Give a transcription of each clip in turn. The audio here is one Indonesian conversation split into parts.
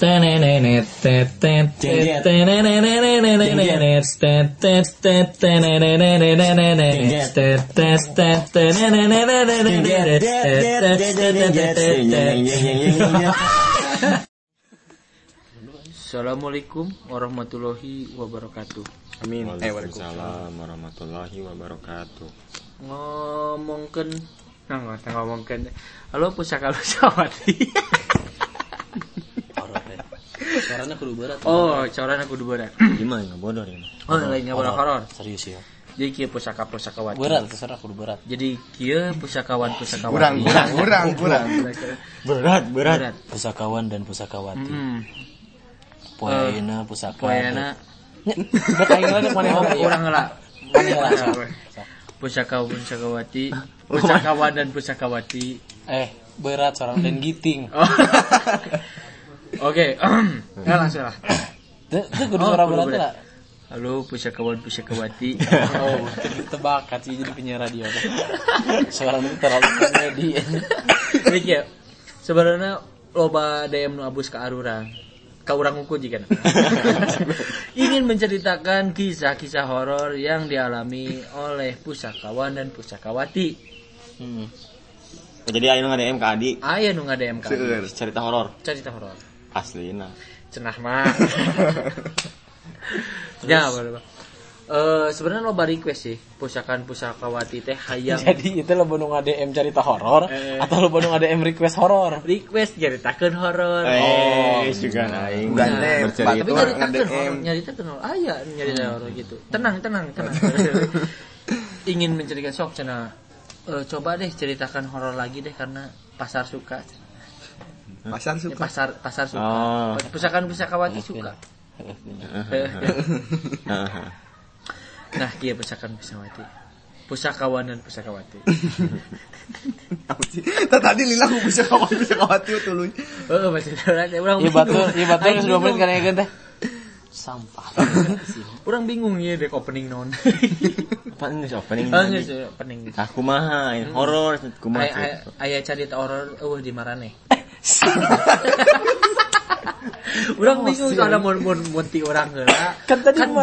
Assalamualaikum warahmatullahi wabarakatuh. Amin. Waalaikumsalam warahmatullahi wabarakatuh. Ngomongkan halo pusaka Lusawati. Caranya kudu berat. Oh, caranya kudu berat. Gimana enggak bodoh ini? Oh, lain enggak horor. Serius ya. Jadi kieu pusaka-pusakawati. Berat terserah kudu berat. Jadi kieu pusakawan-pusakawati. Kurang. Berat. Pusakawan dan pusakawati. Poeina pusaka. Poeina. Bekain lagi mana Urang heula. Pusakawati, pusakawan dan pusakawati. Berat seorang dan giting. Oke, langsung lah. Itu kudu suara berat lah. Halo pusakawan pusakawati. Oh, tebakat sih jadi penyiar radio. Suaranya terlalu komedi. Iki ya. Sebenarnya loba DM nu abus ka arurang. Ka urang unggul jika ingin menceritakan kisah-kisah horor yang dialami oleh pusakawan dan pusakawati. Jadi aya nu ngadem ka Adi. Aya nu ngadem ka Adi. Cerita horor. Aslina. Cenah mah. Ya, boleh. Sebenarnya loba request sih pusakan pusakawati teh hayang. Jadi itu lo nu ngadem cerita horor atau lo nu ngadem request horor? Request ceritakeun horor. Juga aing. Tapi nyaritakeun horor. Aya nyarita horor gitu. Tenang. Ingin menceritakan sok cenah. Coba deh ceritakan horor lagi deh karena pasar suka. Pasar suka. Pusakan pusakawati suka. Nah, kieu pusakan pusakawan dan pusakawati. Tadi lila ku pusakawati tuluy. Heeh, masih urang. Ieu batur geus 2 menit kana geun teh. Sampah. Urang bingung ieu dek opening naon. Apaan geus opening? Opening. Aku mah horor kumaha. Aya carita horor di marane. Urang bingung kalau mun ti urang heula. Kan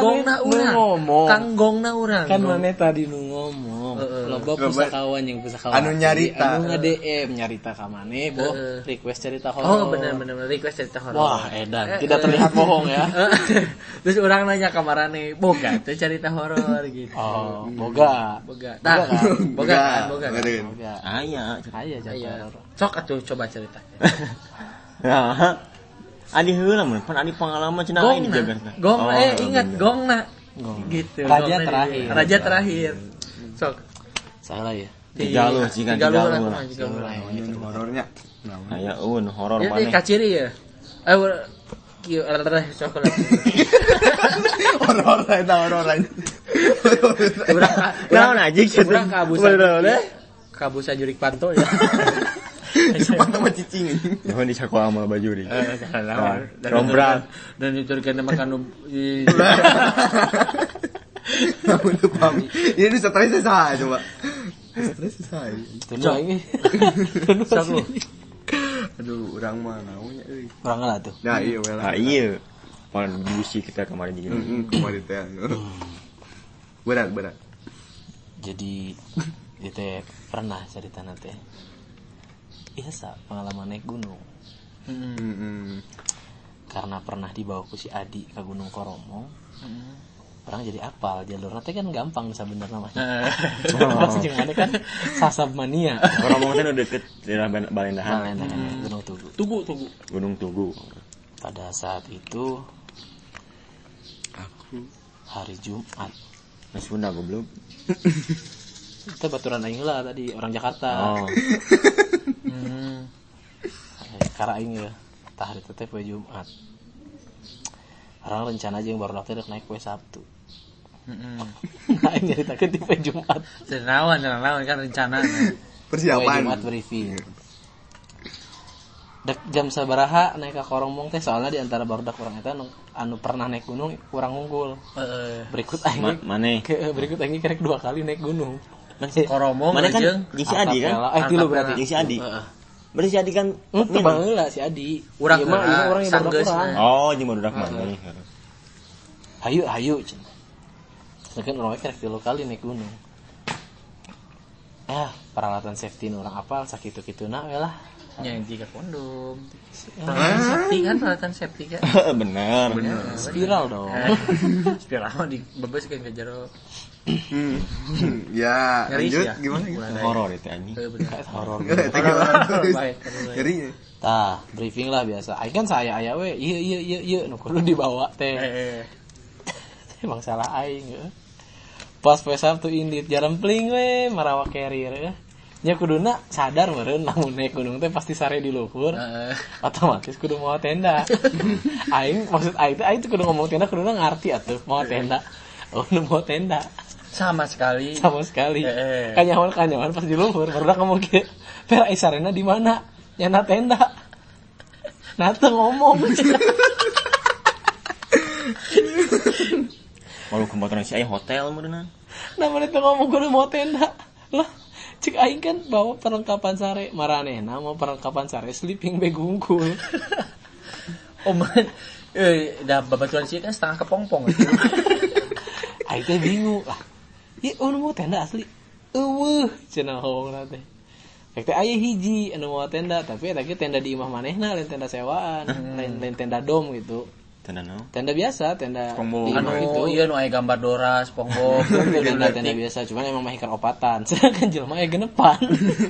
gongna urang. Kan maneh tadi nu ngomong. Loba pusakawan yang pusakawati. Anu nyarita. Anu nge-DM nyarita ka maneh, request cerita horor. Oh, bener request cerita horor. Wah, edan. Tidak terlihat bohong ya. Terus urang nanya ka marane, boga teh cerita horor gitu. Oh, boga. Tah, boga. Aya cerita horor. Sok atuh coba cerita. Ya. Adi heula mun pan adi pengalaman cenah aing dijaga. Ingat gongna. Gitu. Raja terakhir. Sok. Salah ya. Tiga lu. Horornya. Aya horor maneh. Jadi kaciri ya. Kieu sok lah. Horor aja. Naon anjing urang kabusa jurik panto ya. Panto mah cicing. Nuhun di sakola mah bajuri. Rombran dan diturkeun makan Namun tuh pam. Ini stres saya coba. Stres saya. Tunu ini. Aduh, urang mah naonnya euy. Urang lah tuh. Nah, iya we lah. Iya. Pan busi kita kemarin juga. Kemarin teh. Berat. Jadi itu pernah cerita teh. Iya pengalaman naik gunung. Karena pernah dibawa ku si Adi ke Gunung Koromong. Orang jadi apal jalur nanti kan gampang sebenarnya mah. Pas jeung ane kan sasab mania. Koromong teh deket daerah Balendahan. Gunung Tugu. Gunung Tugu. Pada saat itu aku hari Jumat. Mas Sunda goblok. Kita baturan aing lah tadi orang Jakarta. Karena aing ya tah hari teh poe Jumat. Orang rencana aja yang baru daftar naik poe Sabtu. Aing nyaritakeun di poe Jumat. Senawan kan rencana. Persiapan. Poe Jumat briefing. Dek jam sabaraha naik ka Koromong teh soalnya di antara barudak urang eta anu pernah naik gunung kurang unggul. Berikut aing berikut aing kerek 2 kali naik gunung. Koromong mana kan jeung si Adi kan? Dulu berarti jeung si Adi. Berarti si Adi kan Teu baheula si Adi. Urang Ieu mah heula, urang yang sanggeus, urang. Oh, jeung barudak mah. Hayu cenah. Sakeun urang we tilu kali naik gunung. Peralatan safety nu urang apal sakitu-kituna we lah. Nya jika kondom. Peralatan safety kan, peralatan safety kan. Bener. Spiral dong. Spiral mah dibebaskeun ke jero. Ya, Ngeri lanjut sih ya. gimana? Horor itu anjing. Kayak horor. Baik. Ngeri. Tah, briefing lah biasa. Aing kan saya aya we, ieu nu kudu dibawa teh. Emang salah aing heuh. Pas poe Sabtu indit jarempling we marawa carrier heuh. Nya kuduna sadar meureun lamun naik gunung teh pasti sare di luhur. Otomatis kudu mau tenda. Aing maksud aing teh kudu ngomong tenda kuduna ngarti atuh mau tenda. Oh, nu mau tenda. Sama sekali. Kanyawan pas di luhur barudak ngomong kieu. Per isarena di mana? Nyana tenda. Nah teu ngomong. Walau kemotoran si aya hotel meureunna. Nah mana teu ngomong kudu mau tenda. Lah cik aing kan bawa perlengkapan sare, maranehna mau perlengkapan sare sleeping bag unggul. Oh man, dah babaturan sih kan setengah kepompong. Aing teh bingung lah. Ieu anu mau tenda asli. Eueuh, cenah hongna teh. Fek teh aya hiji anu mau tenda, tapi eta ge tenda di imah manehna lain tenda sewaan, lain tenda dom gitu. Tenda naon? Tenda biasa, tenda SpongeBob. di imah gitu. Iya nu aya gambar Dora, SpongeBob. Tenda biasa, cuman emang mah hikar opatan. Sedangkan jelema aya genepan.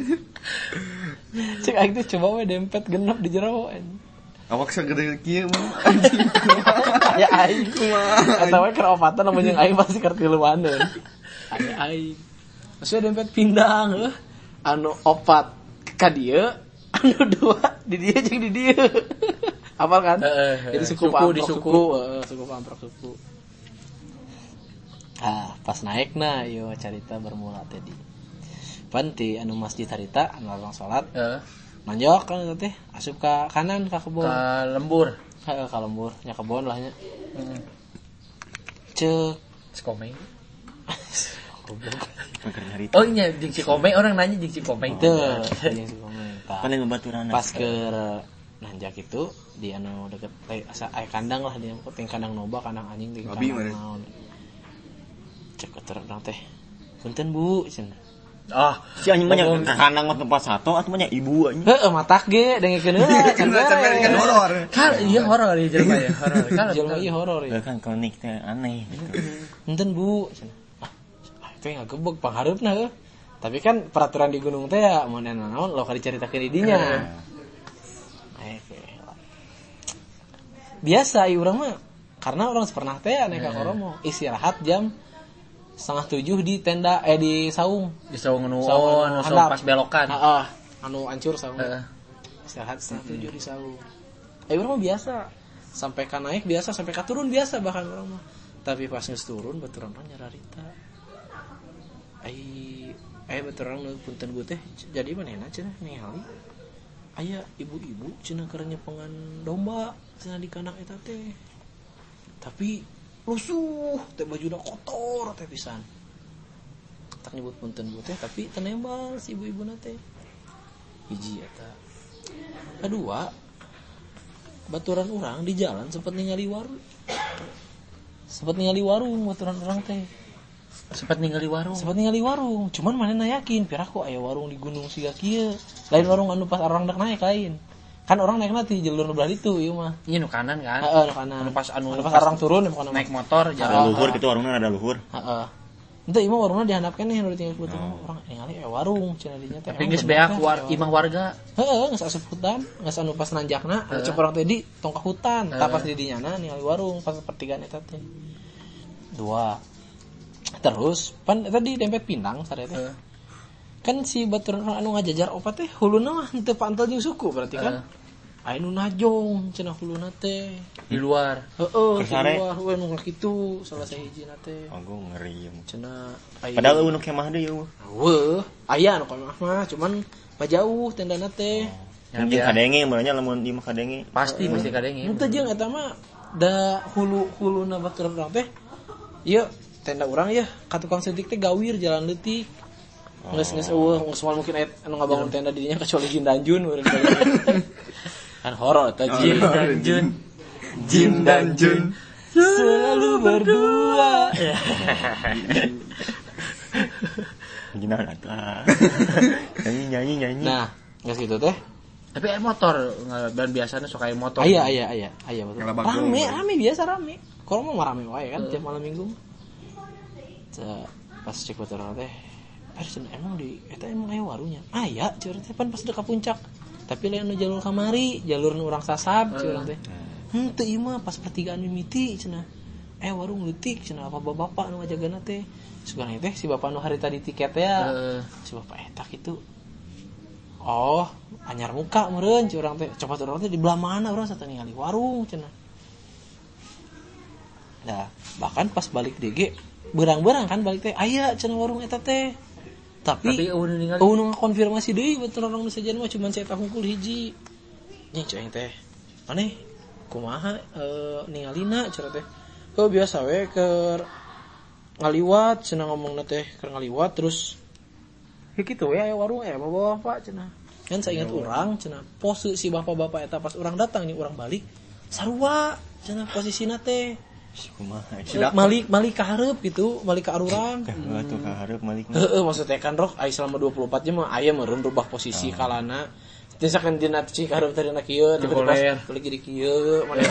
Cek aing teh coba we dempet genep di jero. Awak sagede kieu mah. Ya aing kumaha. Eta we keur opatan lamun jeung aing pasti keur tiluaneun. Aya aing. Maksudnya dempet pindang heuh. Anu opat ka dieu, anu dua di dieu jeung di dieu. Apal kan? Jadi suku amprok suku. Pas naik nah, yo carita bermula tadi. Panti anu masjid harita anu orang salat. Manjok kan teh asup ka kanan ka kebon. Ka lembur. Ka lembur, nya kebon lah nya. Ceuk Cikomeng. Oh, Oh iya, jeung Cikomeng orang nanya jeung Cikomeng. Teu, jeung Cikomeng. paling babaturan. Pas keur nanjak itu di anu deket asa aya kandang lah dia ting kandang noba kandang anjing ting kandang naon. Cek terang teh. Punten Bu cenah. Si anjing mah nya kandang mah tempat satu atuh mah nya ibu anjing. Heuh matak ge dengekeun heula can kan horor. Kan iya horor ieu jelema ya, horor. Kan jelema ieu horor ya. Kan klinik teh aneh gitu. Punten Bu cenah. Itu ngagebeg panghareupna heuh. Tapi kan peraturan di gunung teh ya mun naon lo ka dicaritakeun di dinya. Biasa ieu urang mah karena orang pernah teh naik ka Koromo istirahat jam 6:30 di tenda di saung. Di saung nu pas belokan. Heeh, anu hancur saung. Istirahat 6:30 di saung. Urang mah biasa. Sampai ka naik biasa, sampai ka turun biasa bahkan urang mah. Tapi pas geus turun baturan mah nyararita. Baturan punten gue teh jadi manehna cenah ningali. Aya ibu-ibu cenah keur nyepengan domba cenah di kandang eta teh. Tapi lusuh teh bajuna kotor teh pisan. Tak nyebut punten gue teh tapi tenembal si ibu-ibuna teh. Hiji eta. Kedua, baturan urang di jalan sempat ningali warung. Baturan urang teh. Sempat ningali warung. Cuman manehna yakin piraku aya warung di gunung siga kieu. Lain warung anu pas orang dak naik lain. Kan orang naikna ti jalur nu belah ditu ieu mah. Iya nu kanan kan? Heeh, nu kanan. Anu pas orang turun bukan naik motor jalan luhur gitu warungna ada luhur. Heeh. Henteu ieu mah warungna dihandapkeun nih nu ditinggal beuteung orang ningali warung cenah dinya teh. Tapi geus beak imah warga. Heeh, geus asup hutan, geus anu pas nanjakna, cek urang teh di tong ka hutan, tah pas di dinyana ningali warung pas pertigaan eta teh. 2 terus pan tadi dempet pindang sare teh. Kan si baturan anu ngajajar opat teh huluna mah henteu pantel jeung suku berarti kan. Aya nu najong cenah huluna teh di luar. Heeh, di luar we nu kitu salah sahijina teh. Aku ngeri cenah padahal nu kemah deui eueuh. Weuh, aya nu kemah mah cuman pajauh tendana teh. Mungkin kadenge mulanya lamun di mah kadenge. Pasti mesti kadenge. Henteu jeung eta mah da huluna baturan urang teh. Ieu tenda urang ya ka tukang sedik teh gawir jalan leutik. Geus eueuh, geus moal mungkin anu ngabangun tenda di dinya kecuali Jin dan Jun urang. Kan horor eta Jin dan Jun. Jin dan Jun Selalu berdua. Gimana atuh? Nyanyi. Nah, geus gitu teh. Tapi motor dan biasanya suka motor. Aya betul. Ngalabageun. Rame biasa rame. Kalau mau rame wae kan tiap malam Minggu. Pas cek motor teh, emang di eta emang aya warungnya. Aya curang teh pan pas dekat puncak. Tapi lain anu jalur kamari, jalur nu urang sasab curang teh. Teu ieu mah pas pertigaan mimiti cenah. Warung leutik cenah apa bapak nu ngajagana teh. Sugana teh si bapak nu harita di tiket ya. Si bapak eta kitu. Oh, anyar muka meureun curang teh. Coba urang teh di belah mana urang sata ningali warung cenah. Nah, bahkan pas balik DG berang-berang kan balik teh aya cenah warung eta teh. Tapi eueuh ngakonfirmasi deui betul orang nu sajen mah cuman saya hungkul hiji. Nya ceuing teh. Aneh kumaha ningalina cenah teh. Heuh biasa we keur ngaliwat cenah ngomongna teh keur ngaliwat terus kitu we aya warung bapak cenah. Kan saya ingat urang cenah pose si bapak-bapak eta pas urang datang nih urang balik sarua cenah posisina teh. Kumaha? Malik ka hareup gitu, malik ka arurang. Atuh ka hareup malik. Maksudnya kan roh aya selama 24 jam mah aya meureun rubah posisi kalana. Misalkan dina cik hareup tadi na kieu, tiba-tiba balik jadi kieu, mana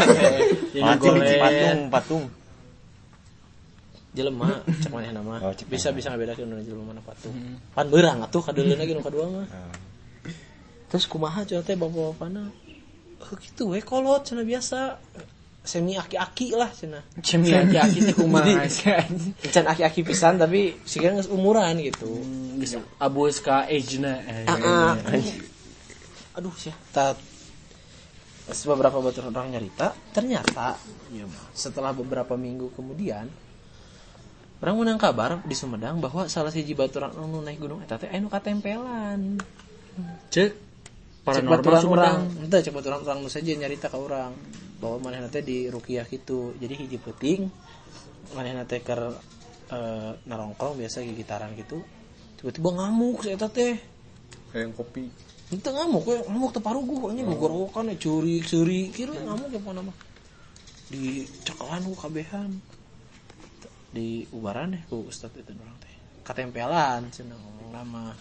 patung. Jelema cek manehna mah. Bisa ngabedakeun nu jelema mana patung. Pan beurang atuh kadeuleuh lagi nu kadua mah. Terus kumaha cenah teh bapak-bapana? Kitu we kolot cenah biasa. Semi aki-aki lah cenah. Semi aki-aki teh kumaha? Can aki-aki pisan tapi siga geus umuran gitu. Geus abus ka age-na. Aduh sia. Beberapa batur orang nyarita, ternyata setelah beberapa minggu kemudian orang menang kabar di Sumedang bahwa salah siji baturan anu naik gunung eta teh anu katempelan. Cek paranormal Sumedang. Henteu cek baturan orang nu saja nyarita ka urang bahwa manehna teh di ruqyah kitu. Jadi hiji peuting manehna teh keur narongkrong biasa gigitaran gitu. Tiba-tiba ngamuk si eta teh. Kayak kopi. Henteu ngamuk teu paruguh nya gogorokan curi kieu ngamuk ya pona mah. Di cekelan ku kabehan. Di ubaran ku ustad itu orang teh. Katempelan cenah ngomong nama.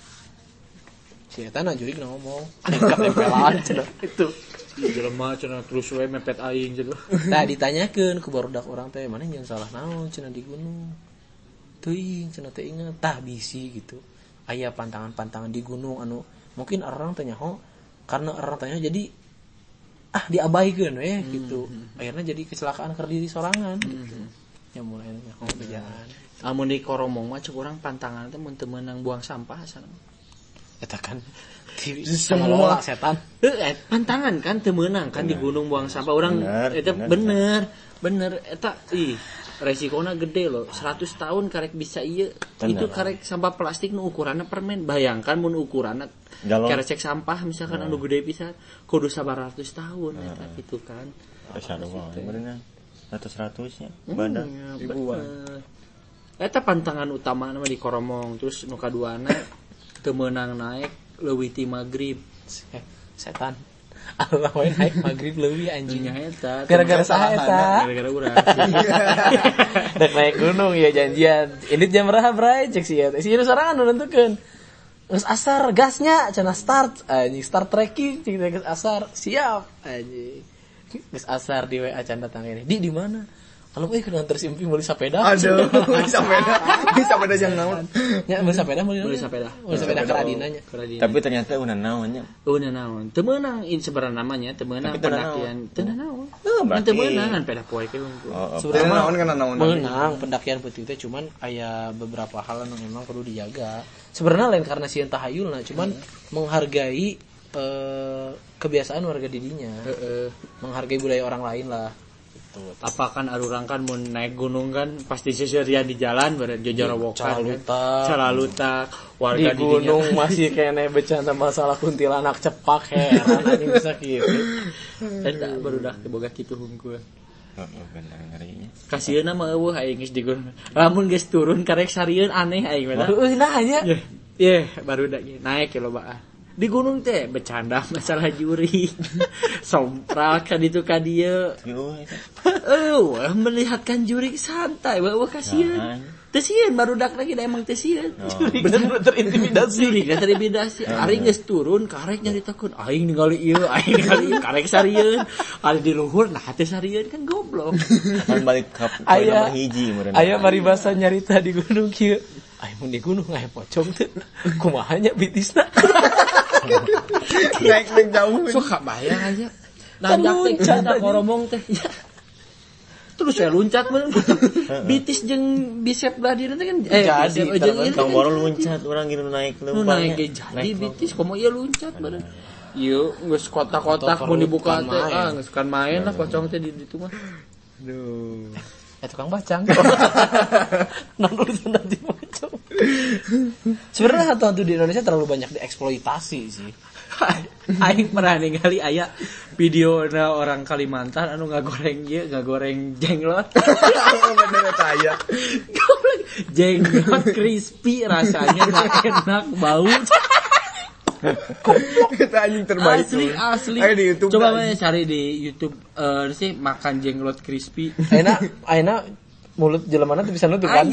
Si eta na jurig ngomong katempelan cenah itu. Jelema cenah terus we mepet aing cenah. Tah ditanyakeun ku barudak urang teh maneh jeung salah naon cenah di gunung. Teuing cenah teh inget tah bisi gitu. Aya pantangan-pantangan di gunung anu mungkin orang teh nyaho karena orang tanya jadi diabaikeun we gitu. Akhirnya jadi kecelakaan keur diri sorangan gitu. Ya mulai nyaho bejaan. Amun di Koromong mah cek urang pantangan teh mun teu meunang buang sampah sana. Eta kan semua setan. Pantangan kan teu meunang kan di gunung buang sampah urang eta bener eta resikonya gede loh. 100 tahun karek bisa ieu. Itu karek sampah plastik nu ukuranna permen. Bayangkan mun ukuranna karek cek sampah misalkan anu gede pisan kudu 900 tahun eta gitu kan. Sarua berenang 100 nya badan ribuan. Eta pantangan utama nama di Koromong. Terus nu kaduana teu meunang naik leuwih ti magrib. Setan. Allah wae naik magrib leuwih anjingnya eta. Gara-gara saha eta? Gara-gara urang. Dek naik gunung ya janjian. Ini jam berapa, Bray? Cek si eta. Si nu sorangan nu nentukeun. Geus asar gasnya cenah start. Anjing start trekking cek geus asar. Siap anjing. Geus asar di WA can datang ini. Di mana? Kalau keur nganter simpi meuli sepeda. Aduh, sepeda jangan naon. Nya meuli sepeda Meuli sepeda keradina nya. Tapi ternyata udah naon nya. Udah naon. Teu meunang sebenarnya namanya teu meunang pendakian. Teu naon. Teu meunang peda poe ke hungkul. Sebenarnya naon kan naon. Meunang pendakian peuting teh cuman aya beberapa hal anu memang perlu dijaga. Sebenarnya lain karena sieun tahayulna cuman menghargai kebiasaan warga didinya. Menghargai budaya orang lain lah. Apakan arurang kan mun naik gunung kan pasti seserian di jalan bareng jojorowokan calalutak warga di gunung masih kene becanda masalah kuntilanak cepak heran anjing bisa kieu eta barudak teh boga kitu hungkul bener ngarinya kasieuna mah eueuh aing geus di gunung lamun geus turun karek sarieun aneh aing mah nah nya baru naik ya lobaan. Di gunung teh bercanda masalah juri. Sompral kan itu ka dieu. Melihatkan juri santai, bawa kasihan. Teu sieun barudak lagi da emang teu sieun. Bener-bener terintimidasi. Juri terintimidasi. Ari geus turun karek nyaritakeun aing ningali ieu, karek sarieun. Ari di luhur nah teh sarieun kan goblok. Kan balik ka nomor hiji meureun. Aya paribasa nyarita di gunung kieu. Aya mun di gunung aya pocong teu. Kumaha nya bitisna? Naik jauh. Suka bayang aja. Nanjak teh kita koromong teh. Terus saya loncat bener. Bitis jeung bisep belah dina teh kan jadi Kang Boro loncat urang gitu naik leumpang. Naik jadi bitis komo ieu loncat bener. Ieu geus kotak-kotak mun dibuka teh geus kan main lah pocong teh di ditu mah. Aduh. Tukang bacang. Nonton nanti pocong. Sebenarnya hantu-hantu di Indonesia terlalu banyak dieksploitasi sih. Aing pernah ningali aya video orang Kalimantan anu ngagoreng jenglot. Bener eta aya. Jenglot crispy rasanya enak bau. Kita anjing terbaik. Asli. Ayo di YouTube. Coba cari di YouTube sih makan jenglot crispy. Aina mulut jelemana tuh bisa nutup kan?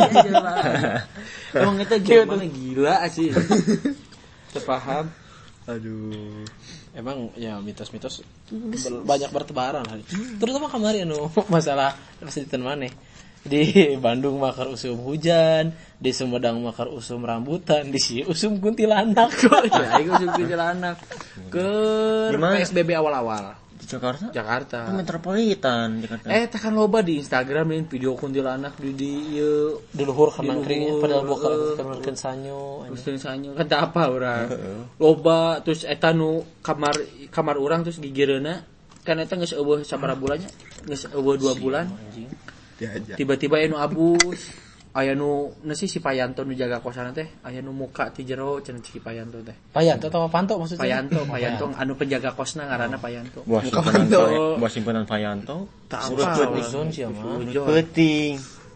Emang itu jelemana gila sih. Terpaham. Aduh. Emang ya mitos-mitos banyak bertebaran hari. Terutama kemarin masalah pasti maneh. Di Bandung makar usum hujan, di Sumedang makar usum rambutan, di sini usum kuntilanak. Ya, usum kuntilanak. Ke PSBB awal-awal. Di Jakarta. Ke metropolitan Jakarta. Tekan loba di Instagram nih video kuntilanak di luhur kenang kering padahal bukan sanyo. Terus sanyo kan tak apa urang. Loba terus eta nu kamar urang terus gigireuna kan eta geus eueuh sabaraha bulannya? Geus eueuh 2 bulan. Tiba-tiba anu abus aya nu si Payanto nu jaga kosan teh aya nu muka ti jero cenah si Payanto teh. Payanto atau Panto maksudnya? Payanto anu penjaga kosna ngaranna Payanto. Buah simpenan Payanto. Usun siapa? Peuting.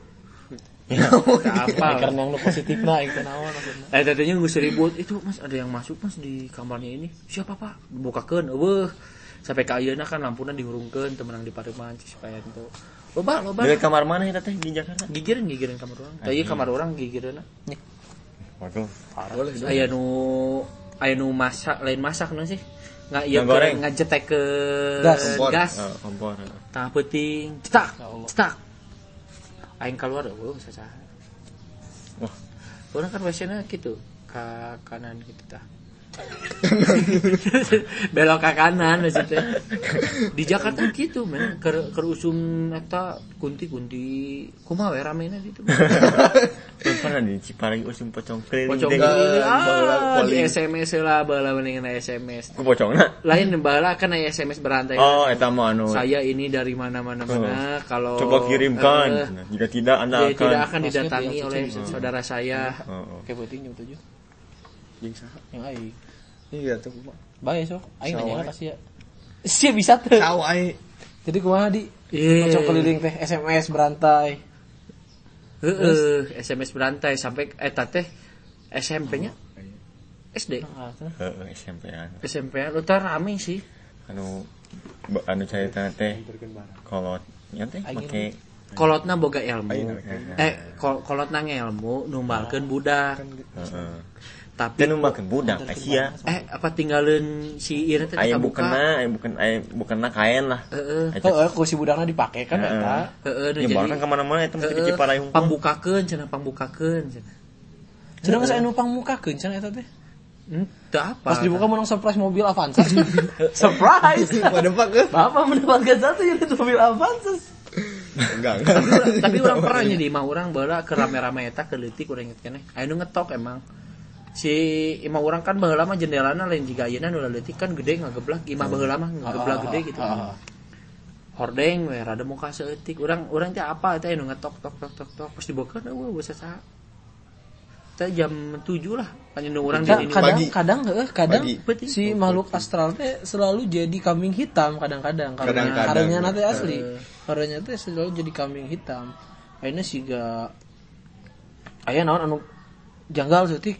Apa? Karena yang lu positifna itu naon maksudna. Tadinya geus ribut itu Mas ada yang masuk Mas di kamarnya ini. Siapa Pak? Bukakeun eueuh. Sampai ka ayeuna kan lampuna dihurungkeun teu meunang dipareman si Payanto. Loba. Dari kamar mana eta teh di Jakarta? Gigireun kamar urang. Tah ieu kamar urang gigireunna. Waduh, parah. Aya nu masak, lain masak nu sih. Ngajetek ke gas. Kompor. Tah peuting, cetak. Aing keluar sasaha. Wah. Urang kan WC-na kitu, ka kanan kitu tah. Belok ke kanan maksudnya. Di Jakarta gitu men keur usum eta kunti kumaha we ramena gitu. Pernah di Ciparai usum pocong keliling. Di SMS lah baheula mendingan SMS. Ku pocongna. Lain baheula kan aya SMS berantai. Oh eta mah anu. Saya ini dari mana-mana kalau coba kirimkan. Jika tidak Anda akan didatangi oleh saudara saya. Kayak penting jam 7. Jeung saha? Yang aing. Iya tuh kumaha. Bae sok. Aing nanya kasih ya. Sia bisa teu. Saw aing. Jadi kumaha di? Pocong keliling teh SMS berantai. SMS berantai sampai eta teh SMP-nya. SD. SMP-an. SMP-an utar rame sih. Anu carita teh kolot nya teh make kolotna boga ilmu. Kolotna ngelmu numbalkeun budak. Tapi numbalkeun budak sia. Apa tinggalin si ieu teh kabuka. Bukanna kain lah. Ku si budakna dipake kan eta. Jadi kan ka mana-mana eta mesti di Ciparai hungkul. Pangbukakeun cenah. Cenah geus anu pangbukakeun cenah eta teh. Teu apa. Pas dibuka menang surprise mobil Avanza. Surprise. Bapak mendapatkan satu unit mobil Avanza. Enggak. Tapi orang pernah nya di imah urang baheula keur rame-rame eta keleutik urang inget keneh. Aya nu ngetok emang. Si imah urang kan baheula mah jendelana lain jiga ayeuna nu leutik kan gede ngageblak, imah baheula mah ngageblak gede gitu. Hordeng we rada muka seutik. Urang teh apa teh nu ngetok tok pas dibuka eueuh saha. Teh jam 7 lah. Panjang urang di ini kadang si makhluk astral teh selalu jadi kambing hitam kadang-kadang karena hareunya teh asli. Hareunya teh selalu jadi kambing hitam. Ayeuna siga aya naon anu janggal seutik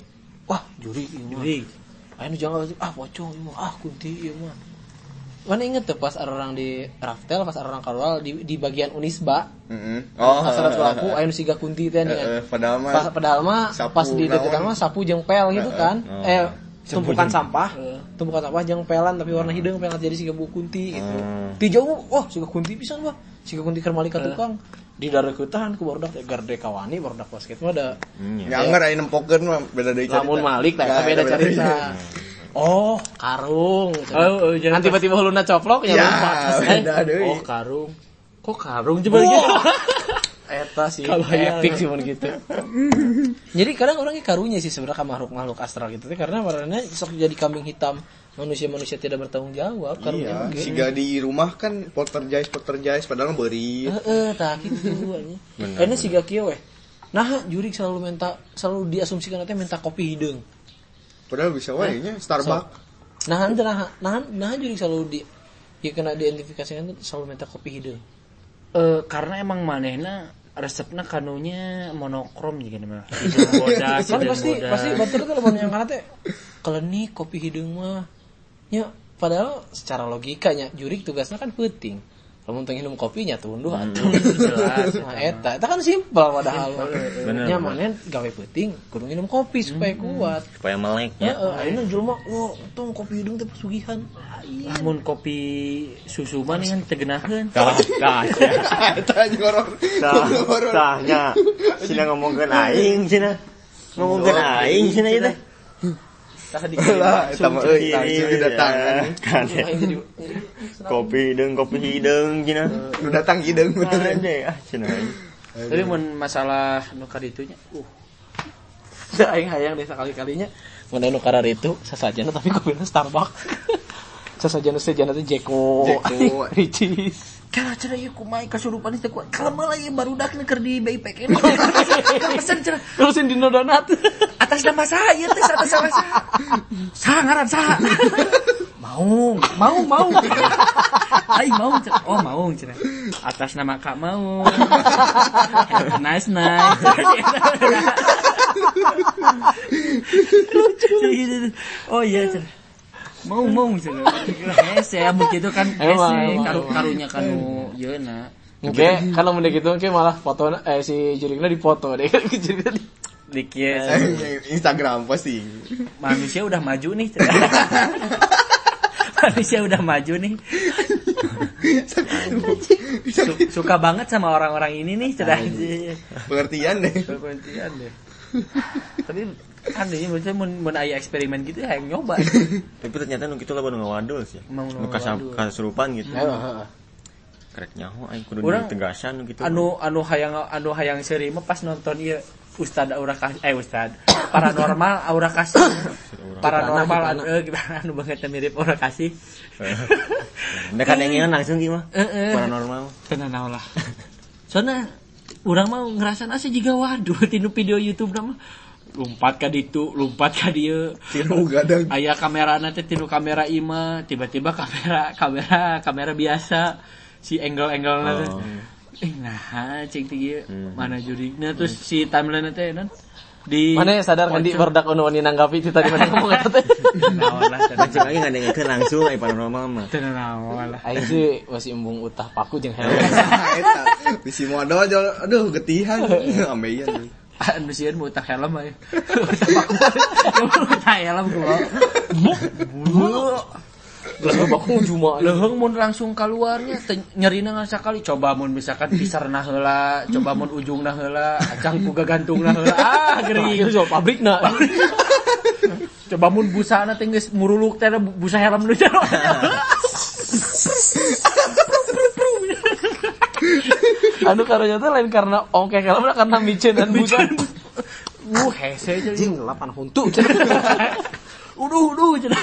wah jurig ieu mah. Aya nu jangan pocong ieu mah, kunti ieu mah. Mana inget tuh pas orang di Raftel, pas orang Karwal di bagian Unisba. Oh, Sasaran aku aya nu siga kunti teh dengan padahal mah pas di deketan mah sapu jeung pel gitu kan. Tumpukan sampah jeung pelan tapi warna hideung pelan jadi siga buku kunti gitu. Ti jauh, siga kunti pisan mah. Siga kunti keur malika tukang. Di dareukeutan ku barudak garde kawani barudak basket mah ada. Ya anggar aya nempokeun mah beda deui cerita. Lamun Malik tah beda cerita. Oh, karung. Kan tiba-tiba huluna coplok ya lupa. Oh, karung. Kok karung coba gitu. Eta sih epic sih mun gitu. Jadi kadang orangnya karunya sih sebenarnya makhluk-makhluk astral gitu karena warnanya sok jadi kambing hitam. Manusia-manusia tidak bertanggung jawab karunya iya, siga di rumah kan poltergeist padahal beuri. Tah kitu anjing. Ene siga kieu weh. Nah, jurig selalu diasumsikan teh minta kopi hideung. Padahal bisa wae nya Starbucks. Nah jurig selalu kena diidentifikasikan tuh selalu minta kopi hideung. Karena emang manehna resepna kanunya monokrom juga nih mah. Kan pasti batur teh lamun yang kana teh kelenik kopi hideung mah. Ya padahal secara logikanya jurig tugasnya kan penting. Lamun teu nginum kopinya tunduh atuh jelas. Nah eta kan simpel padahal. Nya maneh gawe penting kudu nginum kopi supaya kuat, supaya melek nya. Ayeuna jelema tong kopi hideung teh pesugihan. Lamun kopi susu mah nih kan tegenaheun. Tah. Eta horor. Tahnya. Cina ngomongkeun aing cenah. Ngomongkeun aing cenah ieu teh. Tah lah eta mah langsung didatangan. Kopi hideung cenah. Nu datang hideung beneran deh cenah. Tapi mun masalah nu kaditunya da aing hayang deh sakali-kalinya mun anu kararitu sasajana tapi kopina Starbucks. Sasajana teh Jeko. Ricis. Cara ieu kumaha kasurupan teh kuat. Kalema lah ieu barudakna keur di BIPK. Pesen cenah. Terusin dino donat. Atas nama saya teh atas nama saya. Saha ngaran saha? Maung. Ai Maung cenah. Oh Maung cenah. Atas nama Kak Maung. Nice. Oh iya cenah. Mau cenah. Hese begitu kan hese karunya kanu yeuna. Oke, kalau mun gitu oke malah foto si jurigna dipoto deh. Di kieu Instagram pasti. Manusia udah maju nih. Suka banget sama orang-orang ini nih, pengertian deh. Tapi kan ini mun aya eksperimen gitu ya yang nyoba. Tapi ternyata nu kitu lah baru ngawadul sih. Nu kasurupan gitu. Karek nyaho aing kudu ditegasan gitu. Anu hayang seuri mah pas nonton ieu Ustad paranormal aura kasih. Paranormal anu banget mirip aura kasih. Nek kan yang langsung ieu mah. Paranormal. Tenan lah. Soalnya urang mah ngerasan asa jiga waduh tinu video YouTube mah lompat ka ditu, lompat ka dieu. Tinu gadang. Aya kamerana teh tinu kamera ima, tiba-tiba kamera biasa. Si angle-angle-na teh. Nah, cek ieu mana jurigna terus si timeline teh non di mana sadar kan di berdak anu nanggapi itu tadi mana ngomong eta teh. Naon lah tadi cek lagi ngadengkeun langsung ai paranormal mah. Teu naon lah. Aing sih masih embung utah paku jeung helm. Eta bisi modal aduh getihan ambeien. Anu sieun utah helm aya. Utah helm gua. Geus baku cuma leuheung mun langsung keluarnya nyerina ngasakali coba mun misalkan pisarna heula coba mun ujungna heula acang ku gagantungna heula geuring ieu pabrikna coba mun busana teh geus muruluk teh busa helm nu jero anu karunya teh lain karena ongkek helmna karena miceun busa hese jeung 8 huntu uduh cenah.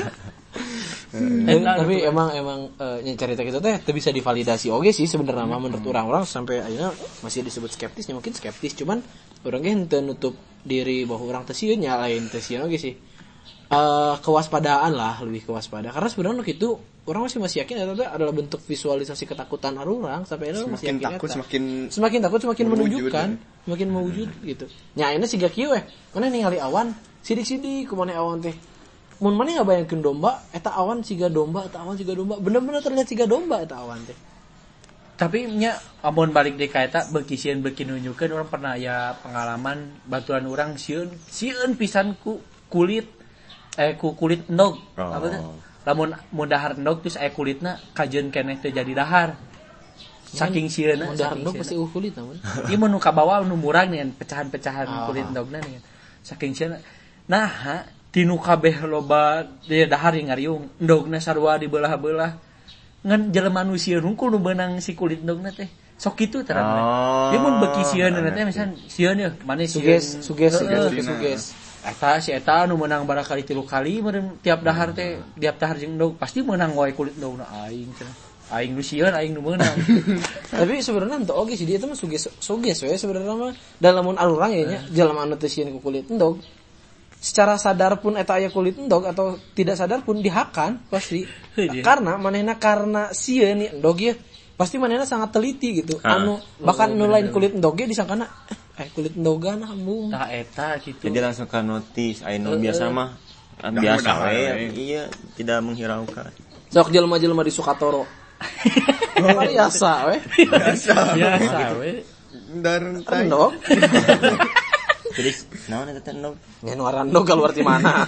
Tapi emang cerita gitu teh bisa divalidasi oge sih sebenarnya mah menurut orang-orang sampai akhirnya masih disebut skeptisnya mungkin skeptis cuman orang ge henteu nutup diri bahwa orang teh sieun nyalain teh sieun oge sih. kewaspadaan lah, lebih kewaspadaan. Karena sebenarnya itu orang masih yakin itu adalah bentuk visualisasi ketakutan orang sampai itu masih yakin takut, semakin takut semakin menunjukkan, semakin mewujud gitu. Nya ini siga kieu mana ningali awan sidik-sidik kumaha awan teh. Mun mana ngabayangkeun domba eta awan siga domba, eta awan siga domba. Bener-bener terlihat siga domba eta awan teh. Tapi nya amun balik deui ka eta beuki sieun beuki nunjukkeun urang pernah aya pengalaman baturan urang sieun pisan ku kulit endog. Apa teh? Lamun dahar endog terus aya kulitna kajeun keneh teh jadi dahar. Saking sieunna dahar endog pasti kulit namun. Ieu mun ka bawah nu murang nih pecahan-pecahan kulit endogna nih. Saking sieunna. Nah, tinu kabeh loba dahar yang ngariung endogna sarua dibelah-belah. Ngan jelema manusia hungkul nu beunang si kulit endogna teh. Sok kitu terang. Ieu mun beuki sieunna teh misalnya sieun yeuh mane suges. Eta si eta nu meunang barakali 3 kali meureun tiap dahar teh tiap dahar jeung endog pasti meunang wae kulit endogna aing cenah. Aing nu sieun aing nu meunang. Tapi sebenarnya henteu oge sih dia teh mah suges we sebenarnya mah dalam mun alurang ya nya jelema anu teu sieun ku kulit endog. Secara sadar pun eta aya kulit endog atau tidak sadar pun dihakan pasti. Karena manehna karena sieun ni endog ye pasti manehna sangat teliti gitu. Bahkan nu lain kulit endog ge disangkana kulit endogan ambung. Tah eta gitu. Jadi langsung ka notis anu biasa mah biasa we iya tidak menghiraukan. Sok jelema-jelema di Sukatoro. Biasa we. Dareng endog. Jadi naon eta teh endog? Nya nu aran endog keluar di mana?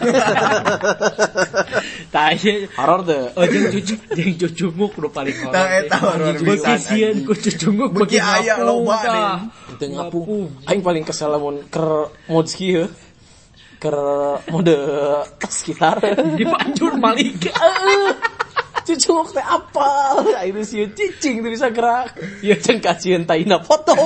Tah ieu horor teh. Oh jeung cucunguk nu paling horor. Tah eta horor bisa. Sieun ku cucunguk beuki aya loba deh. Teu ngapung. Aing paling kesel lamun keur mods kieu. Keur mode sekitar dipanjur malik. Cucunguk teh apal, ayeuna sieun cicing teu bisa gerak. Ieu cenah kacieun taina potong.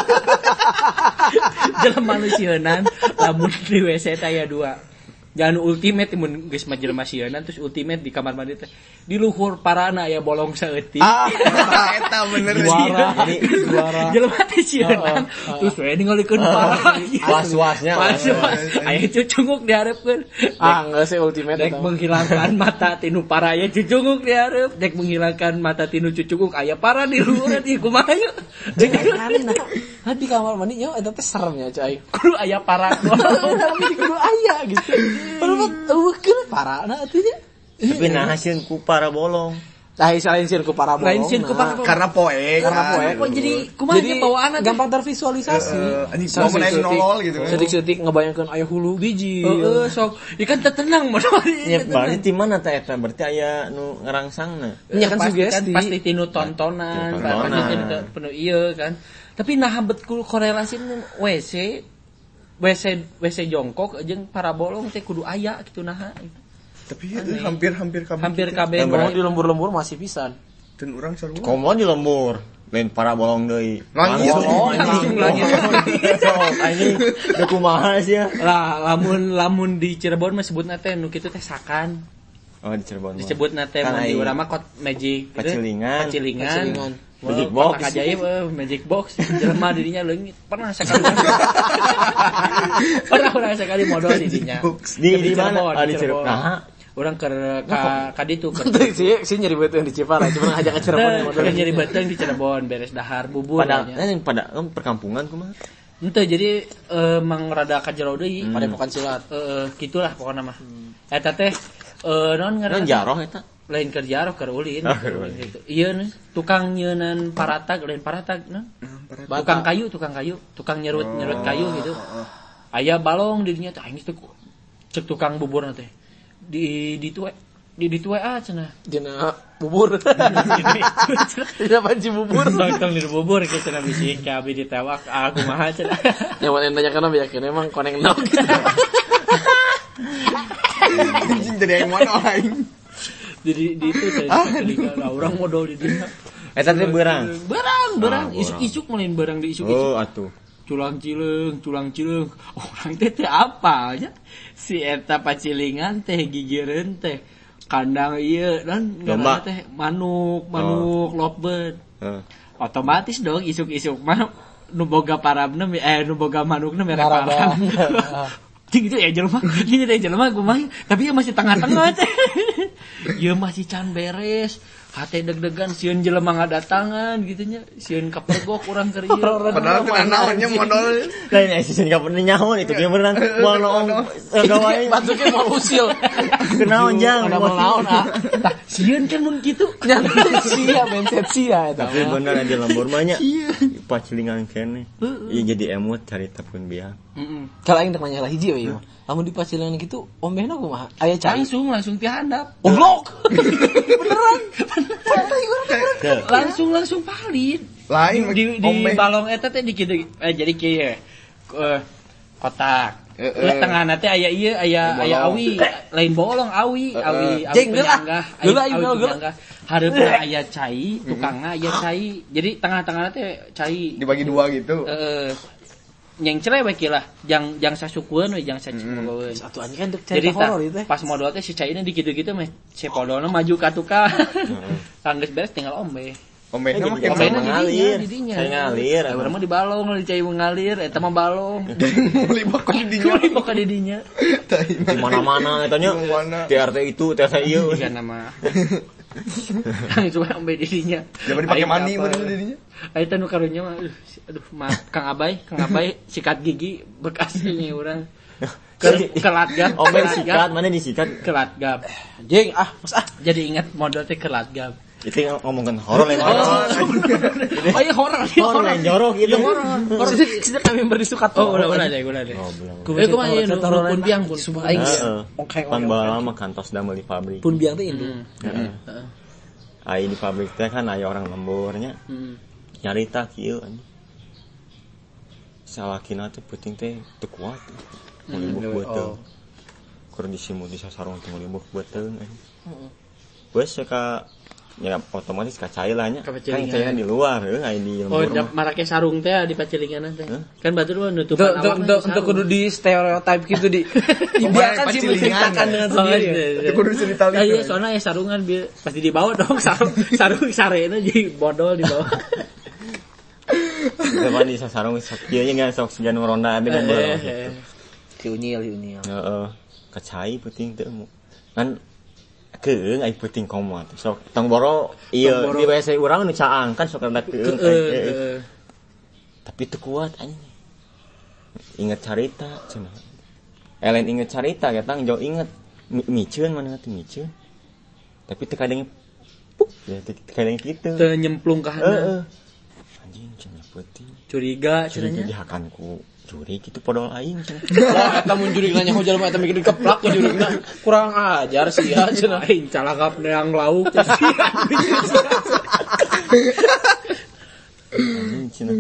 Jelema manusieunan lamun di WC teh aya 2. Jangan ultimate mun geus mah jelema sieunnan terus ultimate di kamar mandi teh. Di luhur parana aya bolong saeutik. Eta bener sih. Jelema teh sieunnan terus we ningalikeun para. Was-wasnya. Aya cucunguk dihareupeun. Geus ultimate dek menghilangkan mata tinu para aya cucunguk dihareup. Dek menghilangkan mata tinu cucunguk aya para di luhur ieu kumaha ieu. Nah di kamar mandi nya eta teh seremnya cai. Kudu aya para. Kudu aya gitu. Padahal eueukeun parana atuh nya. Tapi nah hasil ku para bolong. Lain sieun ku para bolong. Lain sieun ku para bolong. Karena poe. Kok jadi kumaha nya bawaanna gampang tervisualisasi. Anjing mau naik nolol gitu. Sedik-sedik ngebayangkeun aya hulu biji. Heeh, sok. Ikan teu tenang mah. Ya berarti di mana teh eta? Berarti aya nu ngerangsangna. Nya kan sugesti. Pasti tinu tontonan, pasti tinu penuh ieu kan. Tapi nah betul korelasi WC jongkok jeung para bolong teh kudu aya kitu naha. Tapi hampir kabeh mau di lembur-lembur masih pisan. Dan urang sarua. Komo di lembur, lain para bolong deui. Langit. Anjing da kumaha sih ya? Lah lamun di Cirebon mah sebutna teh nu kitu teh sakan. Oh di Cirebon. Disebutna teh mun di urang mah kot magic. Pacilingan. Magic box. Ajaib magic box. Jelema dirinya leungit. Pernah sekali modal dirinya. Di mana? Di Cirebon. Urang ka ditu ka. Si nyeri beuteung di Cipara, cuma ngajak ke Cirebon modal. Nyeri beuteung di Cirebon beres dahar bubur pada perkampungan kumaha? Henteu jadi mang rada ka jero deui pada pokan silat. Gitulah pokona mah. Eta teh naon ngaranna? Jaroh eta. Lain kerja roh keur ulin gitu. Ieu tukang nyeunan paratag lain paratag naon? Tukang kayu, tukang nyerut kayu gitu. Aya balong dirinya teh aing teh cek tukang bubur teh. Di WA cenah. Dina bubur. Dina panci bubur. Nonton di bubur kitu cenah bisi ka abdi ditewak kumaha cenah. Yang mana nanya kana yakin emang koneng nok. Anjing dari yang mana aing? Di itu saya telinga orang modal di dia. Eta teh beurang. Isuk-isuk melain beurang di isuk-isuk. Oh atuh. Culang cileng. Orang teh apa aja? Si eta pacilingan teh gigireun teh kandang ieu dan ngaranna teh manuk lovebird. Otomatis dong isuk-isuk mah nu boga parabna nu boga manukna mere parab. gitu ya jelema ini deh jelema gue main tapi ya masih tengah-tengah teh ya masih can beres hati deg-degan sieun jelema ngadatangan gitunya sieun kapergok urang keur ieu padahal teu naonnya modal lain sieun ka pernah nyaho itu ge beneran moal naon gawae batuke moal usil kenaon jang naon tah sieun kan mun kitu sia benset sia eta tapi bener di lembur mah nya pacilingan kene ieu jadi emut carita pun biang kalau aing teh nanya hiji we lamun di pacilingan gitu ombehna kumaha aya cai langsung pihandap goblok langsung valid lain di balong eta teh di kitu jadi kieu kotak terus tengahna teh aya ieu aya awi lain bolong awi penyanggah hareupeuna aya cai tukangna aya cai jadi tengah-tengahna teh cai dibagi dua gitu yang cerewek lah jang sasukueun we jang sacimogoeun satu anjing kan cerita horor itu pas modal teh si caina dikitu-kitu mah si podolna maju ka tukang geus beres tinggal ombe ombehna ngalir saya ngalir urang mah di balong di cai ngalir eta mah balong libak ka di dinya di mana-mana eta nya TRT itu TRT ieu kan nama langsung ombe di dinya jangan dipake mani bener di dinya aya teh nu karunya mah aduh maaf Kang Abay sikat gigi bekas ini urang kelat gap ombe sikat mana disikat kelat gap anjing mas jadi ingat modal teh kelat gap itu ngomongkan horor lain iya horor lain jorok itu horor sudah kami berdisukat ulah deh kumaha ieu pun biang pun aing pan bae mah kantos damel di pabrik pun biang teh indung ai di pabrik teh kan aya orang lemburnya nyarita kieu anjing salakina teh penting teh teu kuat mulibuk beuteung keur disimut di sasarong teh mulibuk beuteung wes ka ya otomatis kacai lah nya kan saya di luar aya di lembur marake sarung teh di pacilingan teh kan batur mah nutupan awak untuk kudu di stereotype gitu di biarkan sih menceritakan dengan sendiri kudu cerita iya soalnya sarungan pasti dibawa dong sarung sarena jadi bodol dibawa depan di sasarong kieu nya sok sejan ronda ade lembur kiunyil heeh kacai penting teh kan keung ai penting komo sok tong boro ieu di WC urang nu caang kan sok rendak keung tapi teu kuat anjing inget carita cenah lain inget carita ya tang jauh inget miceun mana teh miceun tapi teu kadang puk ya teu kadang kitu teu nyemplung ka handap anjing cenah peuting curiga cenah dihakanku juri gitu podol aing cenah. Wah, eta mun juri nanya hojal mah eta mikir dikeplak ku jurina. Kurang ajar sih ya cenah aing calakap neang lauk. Anjing cenah.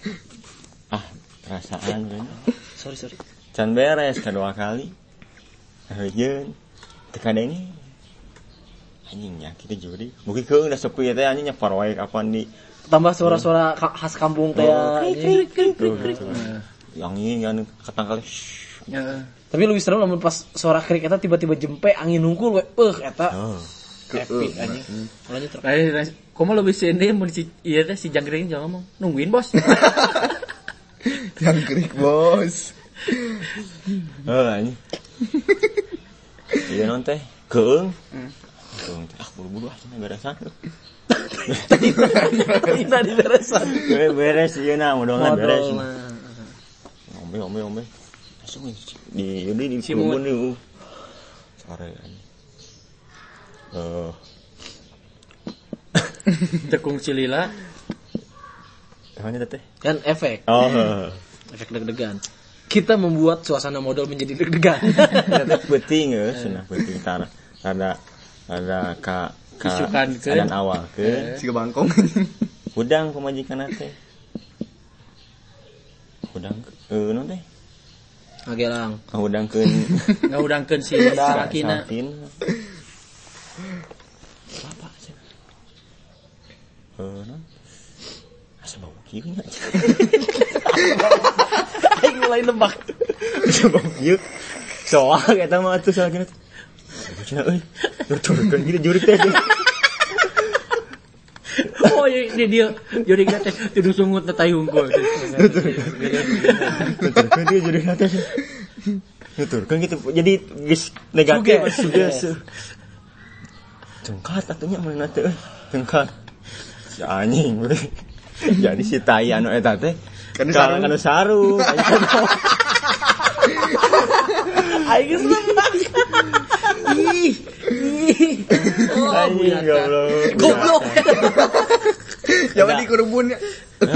Perasaan kan. Sorry. Can beres kedua kali. Heuyeun teu kadenge. Anjing nya kitu juri. Mugi keung da sepi teh anjing nya parwae kapan di tambah suara-suara khas kampung teh krik. Yang ini kan katangkal. Tapi lebih serem lamun pas suara krik eta tiba-tiba jempe angin hungkul we eta. Epic anjing. Lanjut terus. Komo lebih sende mun si ieu teh si jangkrik jangan ngomong. Nungguin bos. Jangkrik bos. Anjing. Ieu non teh keung. Keung buru-buru cenah beresan. Tadi beresan. Beres ieu na modongan beres. Ombe. Masuk di kebun nih. Sore anjing. Tekung cilila. Mana teh? Kan efek. Efek deg-degan. Kita membuat suasana modal menjadi deg-degan. Eta penting cenah penting tara. Ada ka dan awal ke siga bangkong. Udang pemajikan teh. Udang non teh. Ngagelang. Ngaudangkeun si lakina. Bapak cenah. Non. Asa bau kieu nya. Aing mulai nebak. Asa bau kieu. Soal eta mah atuh salakina. Cenah euy. Nuturkeun kieu jurik teh. Oh dia jadi teh tidur sungut na tai hungkul. Dia jadi teh. nuturkeun gitu. Jadi geus negatif suges. Cengkat atunya mana teh? Cengkat. Si anjing we. Jadi si tai anu eta teh kana sarung. Aing geus lemak. Ih. Anjing goblok. Jangan dikurubun ya.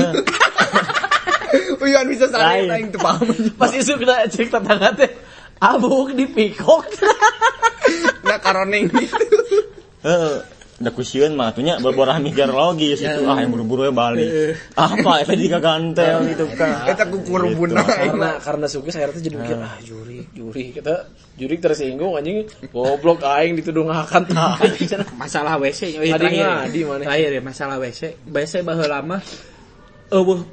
Uyan bisa sareng aing teu paham. Pas isuk kena cek tetangga teh. Abuk dipikok. Nah karoneng gitu. Heeh. Da kusieun mah atunya beborah mikir logis itu yang buru-buru we balik. Apa eta juga gantel gitu kan. Eta kukurubun aing. Karena suka saya tuh jadi mikir juri kita juri tersinggung anjing goblok aing ditudungakan tah. Masalah WC terakhir ya masalah WC baheula mah eueuh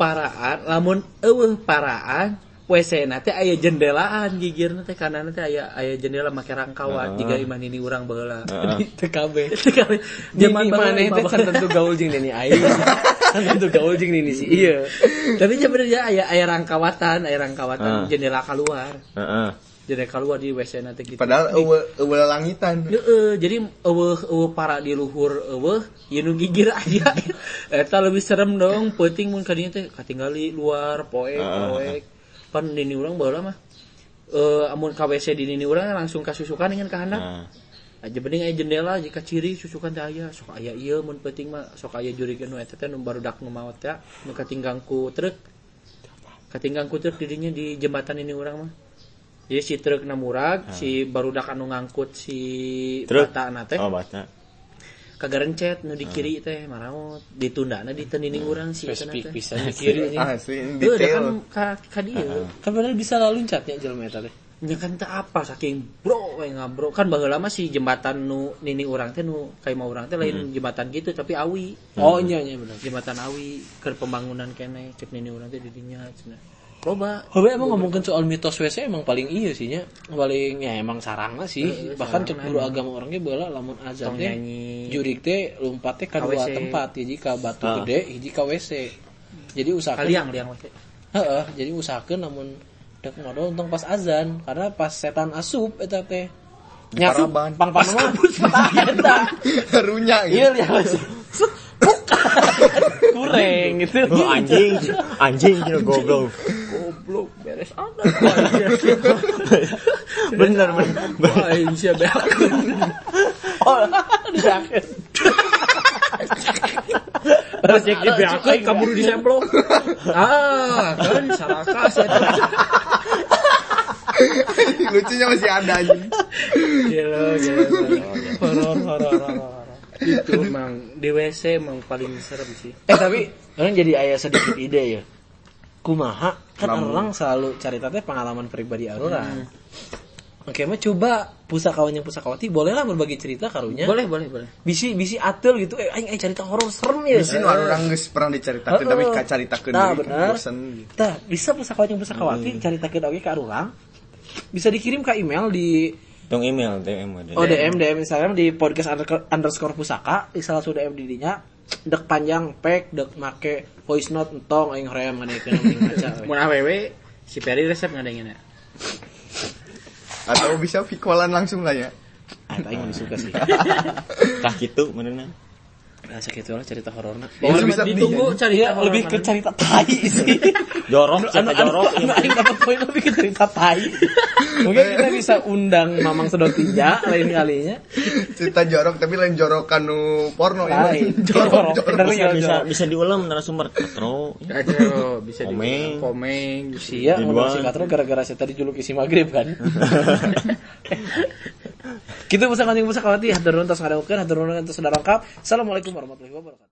paraan WC na teh aya jendelaan gigirna teh kanana teh aya jendela make rangkawat jiga imah nini urang baheula teu kabeh zaman maneh teh can tentu gaul jeung nini aing can tentu gaul jeung nini si ieu tapi sebenarnya aya rangkawatan jendela keluar jendela keluar di WC na teh gitu padahal eueuh langitan jadi eueuh para di luhur eueuh ieu nu gigir aya eta lebih serem dong penting mun ka dieu teh katinggali luar poek pan nini urang baheula mah amun ka WC di nini urang langsung kasusukan dengan ka handap aja bening aya jendela jika ciri susukan teh aya sok aya ieu mun penting mah sok aya jurikeun nu eta teh nu barudak nu maot teh nu katinggang ku truk di dinya di jembatan nini urang mah jadi si truk na murag si barudak anu ngangkut si bata na teh bata kagarencet nu di kiri teh maraot ditundana di teu urang si eta teh bisa di kiri asli detail kan ka dieu kan padahal bisa laluncatnya jelema eta teh nya kan teh apa saking bro we ngabro kan baheula mah si jembatan nu nini urang teh nu ka imah urang teh lain jembatan gitu tapi awi nya bener jembatan awi keur pembangunan keneh cek nini urang teh di dinya cenah loba emang ngomongin soal mitos WC emang paling iya sih nya paling ya emang sarangna sih bahkan cek guru agama orangnya baheula lamun azan teh jurig teh lompat teh ka dua tempat hiji ka batu gede hiji ka WC jadi usahakeun liang WC jadi usahakeun lamun dek modal untung pas azan karena pas setan asup eta teh nyasup pang-pang mah eta harunya iya liang WC kurang gitu anjing gitu goblok beres ada bener aing sia beak disakit cek di beak kaburu di semplong kan salah kas eta lucunya masih ada anjing gila horor itu emang di WC emang paling serem sih tapi orang jadi aya sedikit ide ya kumaha kan orang selalu cerita teh pengalaman pribadi orang oke mah coba pusakawan yang pusakawati boleh lah berbagi cerita karunya boleh bisi atul gitu aing cerita horor serem ya bisi nu orang geus pernah dicaritakeun tapi kacaritakeun deui bosen tah bisa pusakawan yang pusakawati caritakeun oge ka urang bisa dikirim ke email di dong email DM Instagram di podcast_pusaka di salah satu DM di dinya dek panjang pek dek make voice note entong aing hoream ngadekeun ngaca mun awewe si Peri resep ngadengeunna atau bisa vikolan langsung lah ya eta aing suka sih tah kitu meunana rasa kitu lah cerita hororna bisa ditunggu cerita lebih ke cerita tai sih jorok aing dapat poin lebih ke cerita tai mungkin kita bisa undang Mamang Sedot Tinja lain kalinya cerita jorok tapi lain jorokan nu porno ya jorok bisa diulang narasumber katro bisa komeng sia ngomong si katro gara-gara saya tadi juluki si magrib kan kita bisa kawati hatur nuhun tos ngadengkeun hatur nuhun tos saudara lengkap. Assalamualaikum warahmatullahi wabarakatuh.